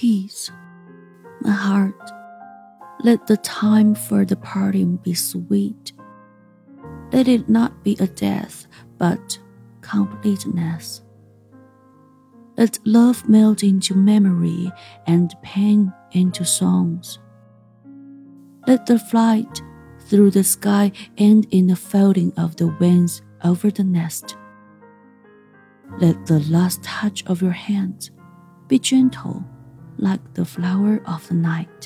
peace. My heart, let the time for the parting be sweet. Let it not be a death, but completeness. Let love melt into memory and pain into songs. Let the flight through the sky end in the folding of the wings over the nest. Let the last touch of your hand be gentle like the flower of the night.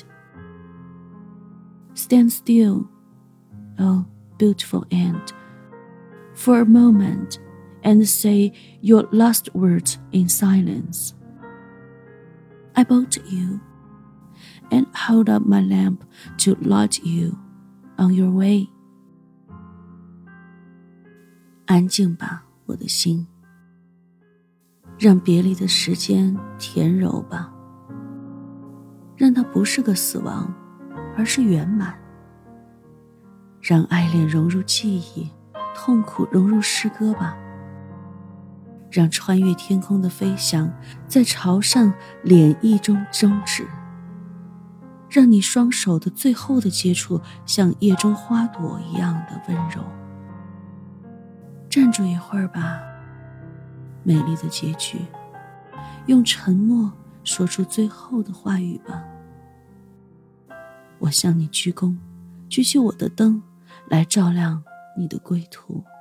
Stand still, oh beautiful end, for a moment and say your last words in silence. I bow to you and hold up my lamp to light you on your way. 安静吧，我的心，让别离的时间甜柔吧，让它不是个死亡，而是圆满。让爱恋融入记忆，痛苦融入诗歌吧。让穿越天空的飞翔在潮上涟漪中终止。让你双手的最后的接触像夜中花朵一样的温柔。站住一会儿吧，美丽的结局，用沉默说出最后的话语吧。我向你鞠躬，举起我的灯来照亮你的归途。